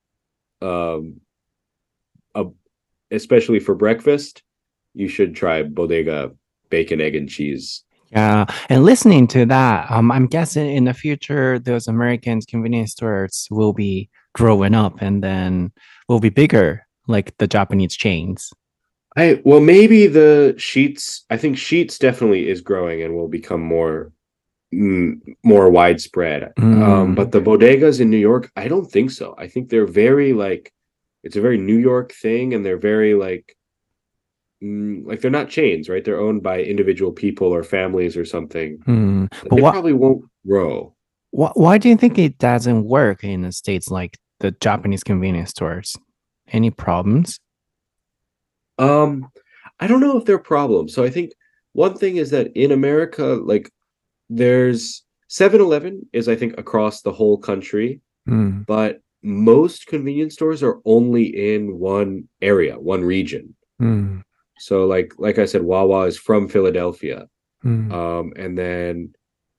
um, a, especially for breakfast, you should try bodega bacon, egg, and cheese. Yeah, and listening to that, I'm guessing in the future those American convenience stores will be growing up and then will be bigger, like the Japanese chains. Maybe the Sheets. I think Sheets definitely is growing and will become more widespread. But Mm, the bodegas in New York, I don't think so. I think they're very like it's a very New York thing, and they're very like they're not chains, right? They're owned by individual people or families or something. But They probably won't grow. why do you think it doesn't work in the States like the Japanese convenience stores? Any problems? Um, I don't know if they're problems. So I think one thing is that in America, like there's 7-Eleven is I think across the whole country, but most convenience stores are only in one area, one region. So like I said, Wawa is from Philadelphia. And then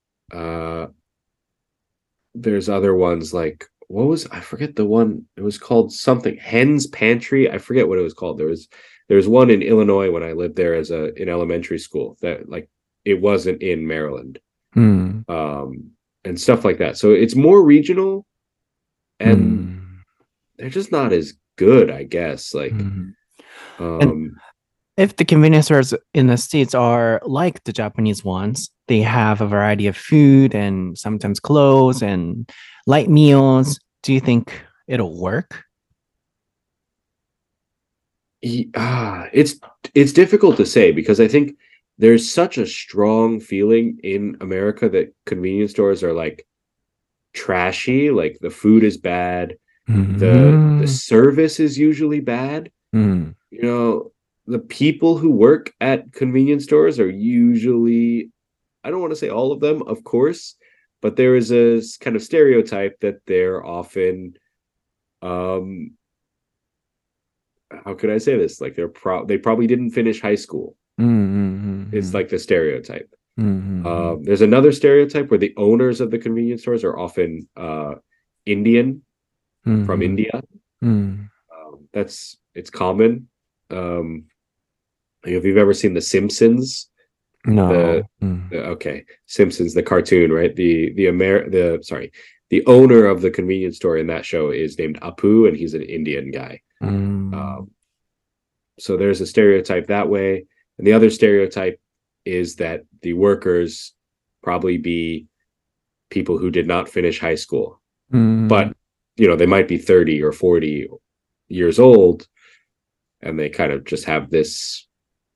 there's other ones like I forget the one, it was called something Hen's Pantry. I forget what it was called. There was one in Illinois when I lived there in elementary school that like it wasn't in Maryland. And stuff like that. So it's more regional and they're just not as good, I guess. Like and if the convenience stores in the States are like the Japanese ones, they have a variety of food and sometimes clothes and light meals. Do you think it'll work? It's difficult to say because I think there's such a strong feeling in America that convenience stores are like trashy, like the food is bad, the service is usually bad. You know, the people who work at convenience stores are usually, I don't want to say all of them, of course, but there is a kind of stereotype that they're often how could I say this? Like they probably didn't finish high school. It's like the stereotype. There's another stereotype where the owners of the convenience stores are often Indian from India. It's common. If you've ever seen The Simpsons, No. Okay, Simpsons, the cartoon, right? The owner of the convenience store in that show is named Apu, and he's an Indian guy. So there's a stereotype that way, and the other stereotype is that the workers probably be people who did not finish high school, but they might be 30 or 40 years old, and they kind of just have this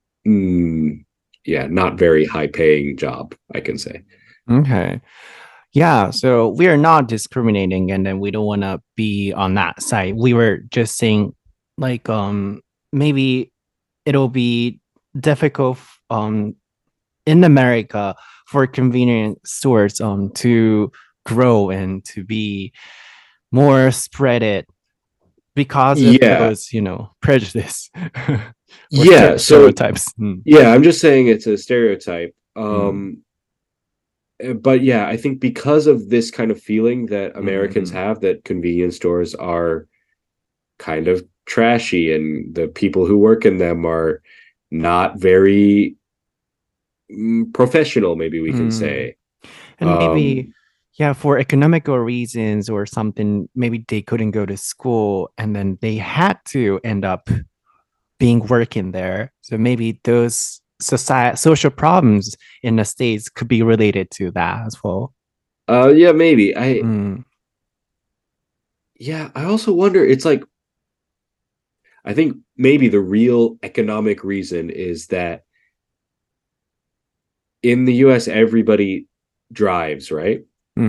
not very high paying job, I can say. Okay. Yeah, so we are not discriminating, and then we don't want to be on that side. We were just saying like maybe it'll be difficult in America for convenience stores to grow and to be more spread it because of those, prejudice. Stereotypes. I'm just saying it's a stereotype. But yeah, I think because of this kind of feeling that Americans have that convenience stores are kind of trashy and the people who work in them are not very professional, maybe we can say. And maybe, for economical reasons or something, maybe they couldn't go to school and then they had to end up being working there. So maybe those social problems in the States could be related to that as well. Maybe. I also wonder, it's like, I think maybe the real economic reason is that in the US, everybody drives, right?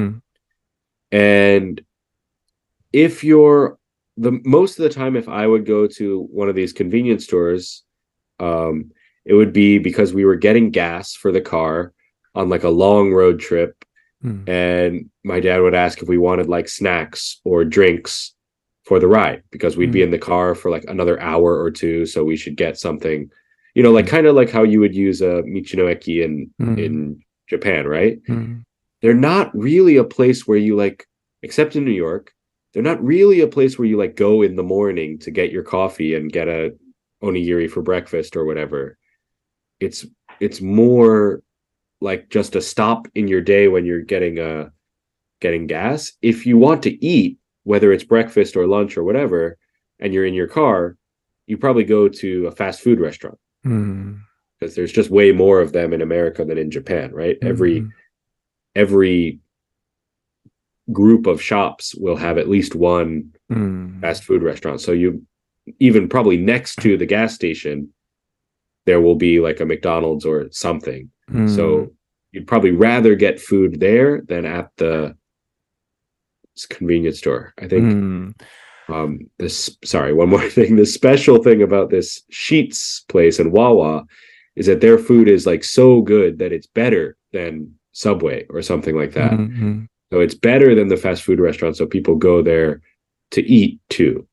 And if you're most of the time, if I would go to one of these convenience stores, it would be because we were getting gas for the car on like a long road trip. And my dad would ask if we wanted like snacks or drinks for the ride because we'd be in the car for like another hour or two. So we should get something, like kind of like how you would use a Michinoeki in Japan, right? They're not really a place where you like, except in New York, they're not really a place where you like go in the morning to get your coffee and get a onigiri for breakfast or whatever. It's more like just a stop in your day when you're getting gas. If you want to eat, whether it's breakfast or lunch or whatever, and you're in your car, you probably go to a fast food restaurant because there's just way more of them in America than in Japan, right? Every group of shops will have at least one fast food restaurant. So you even probably next to the gas station, there will be like a McDonald's or something. So you'd probably rather get food there than at the convenience store, I think. One more thing. The special thing about this Sheetz place in Wawa is that their food is like so good that it's better than Subway or something like that. Mm-hmm. So it's better than the fast food restaurant. So people go there to eat too.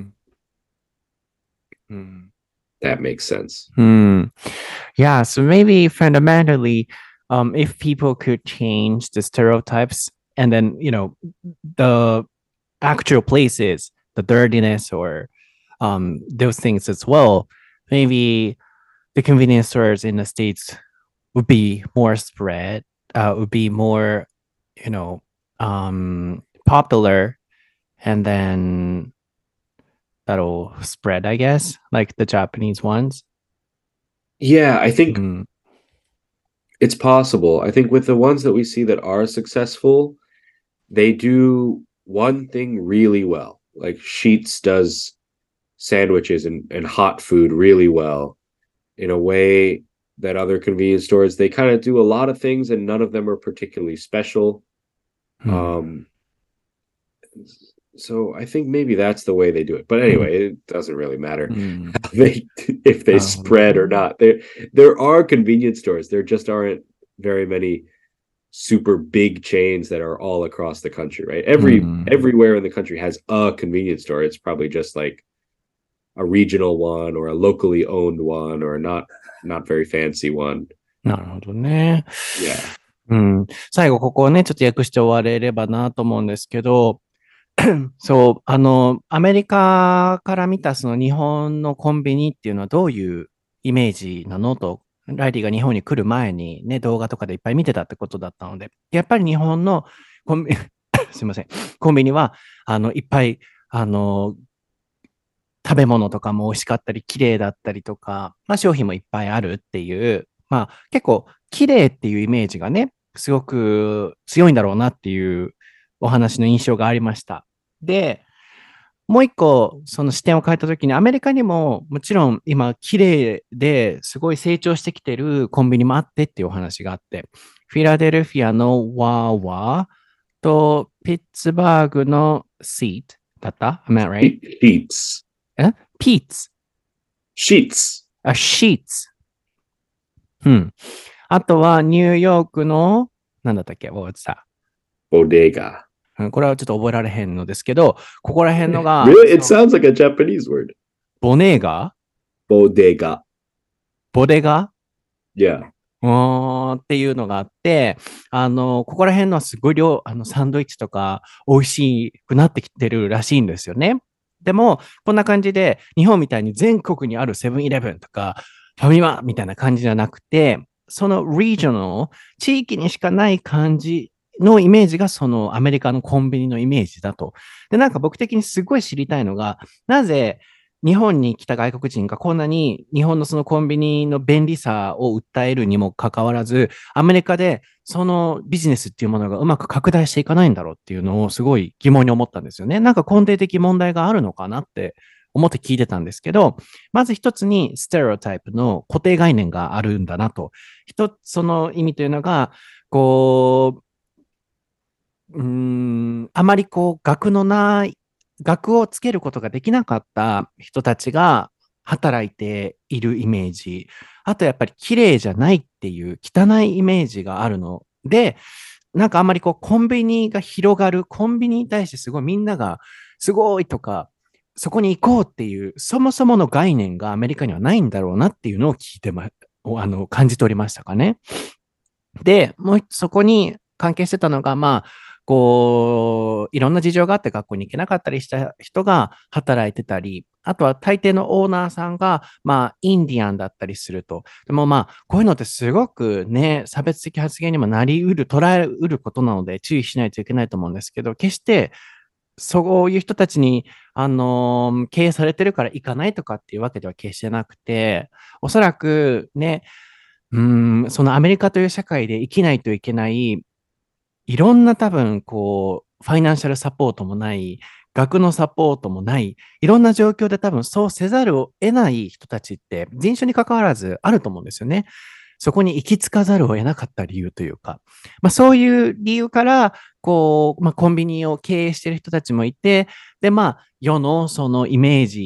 Mm-hmm. That makes sense. Yeah, so maybe fundamentally, if people could change the stereotypes and then, the actual places, the dirtiness or those things as well, maybe the convenience stores in the States would be more spread, would be more, popular, and then that'll spread, I guess, like the Japanese ones. Yeah, I think it's possible. I think with the ones that we see that are successful, they do one thing really well. Like Sheetz does sandwiches and hot food really well in a way that other convenience stores, they kind of do a lot of things and none of them are particularly special. So I think maybe that's the way they do it. But anyway, it doesn't really matter if they spread or not. There are convenience stores. There just aren't very many super big chains that are all across the country, right? Everywhere in the country has a convenience store. It's probably just like a regional one or a locally owned one or not very fancy one. なるほどね。 Yeah. 最後ここをね、ちょっと訳して終われればなと思うんですけど、そう、アメリカから見たその日本のコンビニっていうのはどういうイメージなのと、ライリーが日本に来る前にね、動画とかでいっぱい見てたってことだったので、やっぱり日本のすいません、コンビニは、いっぱい、食べ物とかも美味しかったり、綺麗だったりとか、商品もいっぱいあるっていう、結構綺麗っていうイメージがね、すごく強いんだろうなっていうお話の印象がありました。で、もう一個、その視点を変えたときに、アメリカにももちろん今、綺麗ですごい成長してきてるコンビニもあってっていうお話があって、フィラデルフィアのワーワーとピッツバーグのシートだった？ Am I right? Sheets. ピーツ。 Sheets. シーツ。あとはニューヨークの、なんだったっけ？ What was that? Bodega. これはちょっと覚えられへんのですけど、ここら辺のが。 Really? It sounds like a Japanese word. ボネーガ？ Bodega. ボデガ？ Yeah. っていうのがあって、ここら辺のはすごいサンドイッチとか美味しくなってきてるらしいんですよね。でも、こんな感じで、日本みたいに全国にあるセブンイレブンとか、ファミマみたいな感じじゃなくて、そのリージョナル、地域にしかない感じのイメージがそのアメリカのコンビニのイメージだと。で、なんか僕的にすごい知りたいのが、なぜ日本に来た外国人がこんなに日本のそのコンビニの便利さを訴えるにもかかわらず、アメリカでそのビジネスっていうものがうまく拡大していかないんだろうっていうのをすごい疑問に思ったんですよね。なんか根底的問題があるのかなって思って聞いてたんですけど、まず一つにステレオタイプの固定概念があるんだなと。一つその意味というのが、あまり学をつけることができなかった人たちが働いているイメージ。あとやっぱり綺麗じゃないっていう汚いイメージがあるので、なんかあんまりコンビニが広がる、コンビニに対してすごいみんながすごいとか、そこに行こうっていう、そもそもの概念がアメリカにはないんだろうなっていうのを感じ取りましたかね。で、もうそこに関係してたのが、いろんな事情があって学校に行けなかったりした人が働いてたり、あとは大抵のオーナーさんが、インディアンだったりすると。でもこういうのってすごくね、差別的発言にも捉えうることなので注意しないといけないと思うんですけど、決して、そういう人たちに、経営されてるから行かないとかっていうわけでは決してなくて、おそらくね、そのアメリカという社会で生きないといけない、いろんな多分、ファイナンシャルサポートもない、学のサポートもない、いろんな状況で多分そうせざるを得ない人たちって人種に関わらずあると思うんですよね。そこに行き着かざるを得なかった理由というか、そういう理由から、コンビニを経営している人たちもいて、で、世のそのイメージ、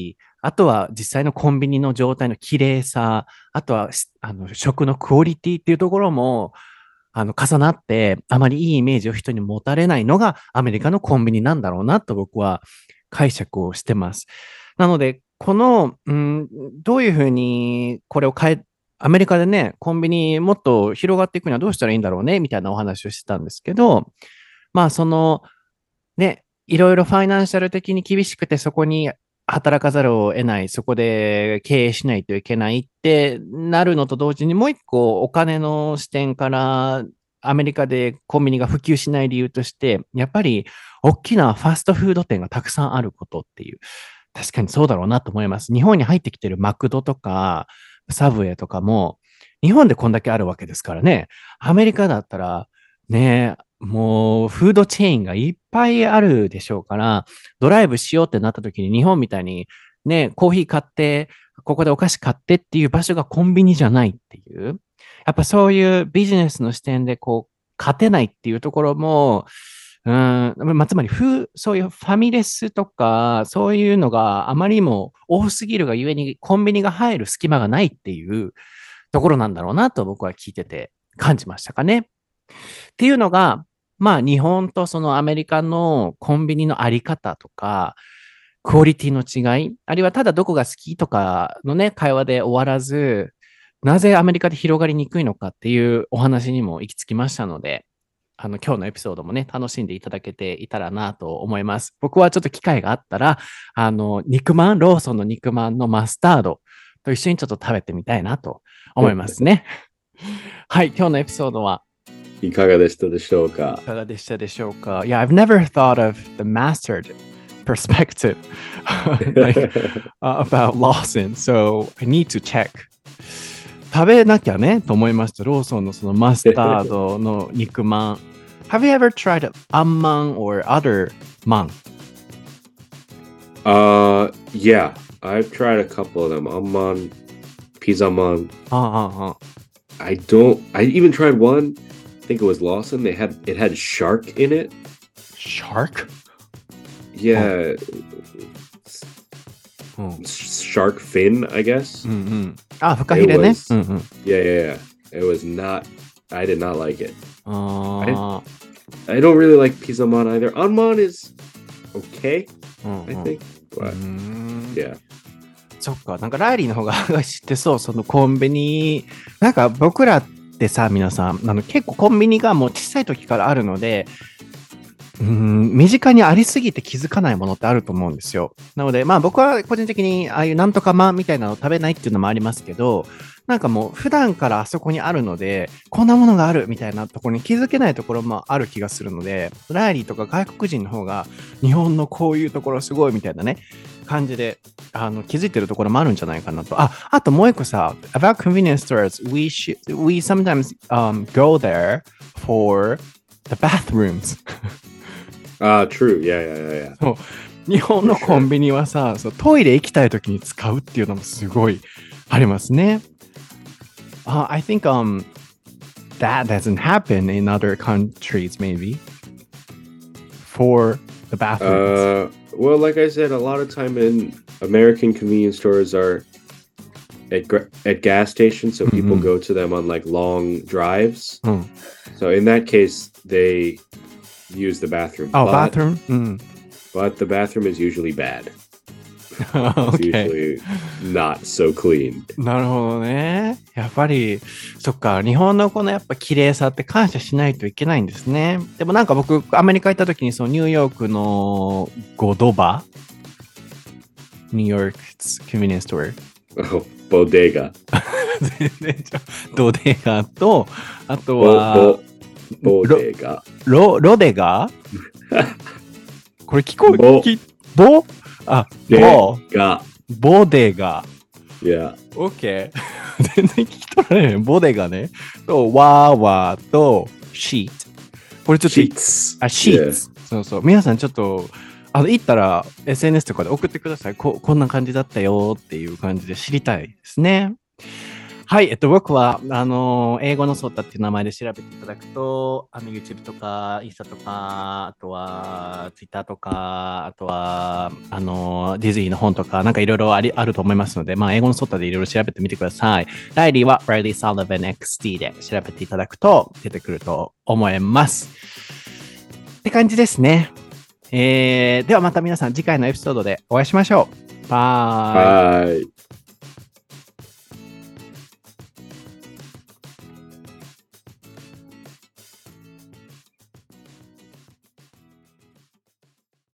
あとは実際のコンビニの状態の綺麗さ、あとは食のクオリティっていうところも、重なって、あまりいいイメージを人に持たれないのがアメリカのコンビニなんだろうなと僕は解釈をしてます。なので、どういうふうにこれをアメリカでね、コンビニもっと広がっていくにはどうしたらいいんだろうね、みたいなお話をしてたんですけど、まあ、ね、いろいろファイナンシャル的に厳しくて、そこに働かざるを得ない、そこで経営しないといけないってなるのと同時に、もう一個お金の視点からアメリカでコンビニが普及しない理由として、やっぱり大きなファストフード店がたくさんあることっていう、確かにそうだろうなと思います。日本に入ってきてるマクドとか、サブウェイとかも、日本でこんだけあるわけですからね。アメリカだったら、ね、もうフードチェーンがいっぱいあるでしょうから、ドライブしようってなった時に日本みたいにね、コーヒー買って、ここでお菓子買ってっていう場所がコンビニじゃないっていう。やっぱそういうビジネスの視点で勝てないっていうところも、つまりそういうファミレスとか、そういうのがあまりにも多すぎるがゆえにコンビニが入る隙間がないっていうところなんだろうなと僕は聞いてて感じましたかね。っていうのが、まあ日本とそのアメリカのコンビニのあり方とか、クオリティの違い、あるいはただどこが好きとかのね、会話で終わらず、なぜアメリカで広がりにくいのかっていうお話にも行き着きましたので、今日のエピソードもね、楽しんでいただけていたらなと思います。僕はちょっと機会があったら、ローソンの肉まんのマスタードと一緒にちょっと食べてみたいなと思いますね。はい、今日のエピソードはいかがでしたでしょうか？ いかがでしたでしょうか？ Yeah, I've never thought of the mastered perspective about Lawson, so I need to check. 食べなきゃねと思いました。ローソンのそのマスタードの肉まん。Have you ever tried Amman or other man? Yeah, I've tried a couple of them. Amman, Pizza Man. I even tried one. I think it was Lawson. It had shark in it. Shark? Yeah. Shark fin, I guess. フカヒレね。 Yeah. It was not. I did not like it. I don't really like Pizza Man either. Anman is okay, I think. But yeah. そっか、なんかライリーの方が知ってそう、そのコンビニ、なんか僕らってさ、皆さん、結構コンビニがもう小さい時からあるので、身近にありすぎて気づかないものってあると思うんですよ。なので、まあ僕は個人的にああいうなんとかまんみたいなのを食べないっていうのもありますけど、なんかもう普段からあそこにあるので、こんなものがあるみたいなところに気づけないところもある気がするので、ライリーとか外国人の方が日本のこういうところすごいみたいなね、感じで気づいてるところもあるんじゃないかなと。あともう一個さ、about convenience stores, we sometimes go there for the bathrooms. True. Yeah. そう、日本のコンビニはさ、トイレ行きたいときに使うっていうのもすごいありますね。I think that doesn't happen in other countries, maybe. For the bathrooms. Well, like I said, a lot of time in American convenience stores are at gas stations, so people go to them on like long drives. So in that case, they use the bathroom. Bathroom? But the bathroom is usually bad. It's usually not so clean. なるほどね。やっぱり、そっか、日本のこのやっぱ綺麗さって感謝しないといけないんですね。でもなんか僕、アメリカ行った時にそのニューヨークのゴドバニューヨーク convenience store. Bodega. ドデガと、あとは、 ボデガ。 ロデガこれ聞こえ、ボデガ。 Yeah. OK 全然聞き取られない。ボデガね。と、ワーワーと、シート。これちょっと、 シーツ。 シーツ。そうそう。皆さんちょっと、行ったら SNS とかで送ってください。こんな感じだったよっていう感じで知りたいですね。 はい、僕は、英語のソータっていう名前で調べていただくと、YouTube とか、インスタとか、あとは、Twitter とか、あとは、ディズニーの本とか、なんかいろいろあると思いますので、まあ、英語のソータでいろいろ調べてみてください。ライリーは Riley Sullivan XD で調べていただくと出てくると思います。って感じですね。ではまた皆さん次回のエピソードでお会いしましょう。バイ。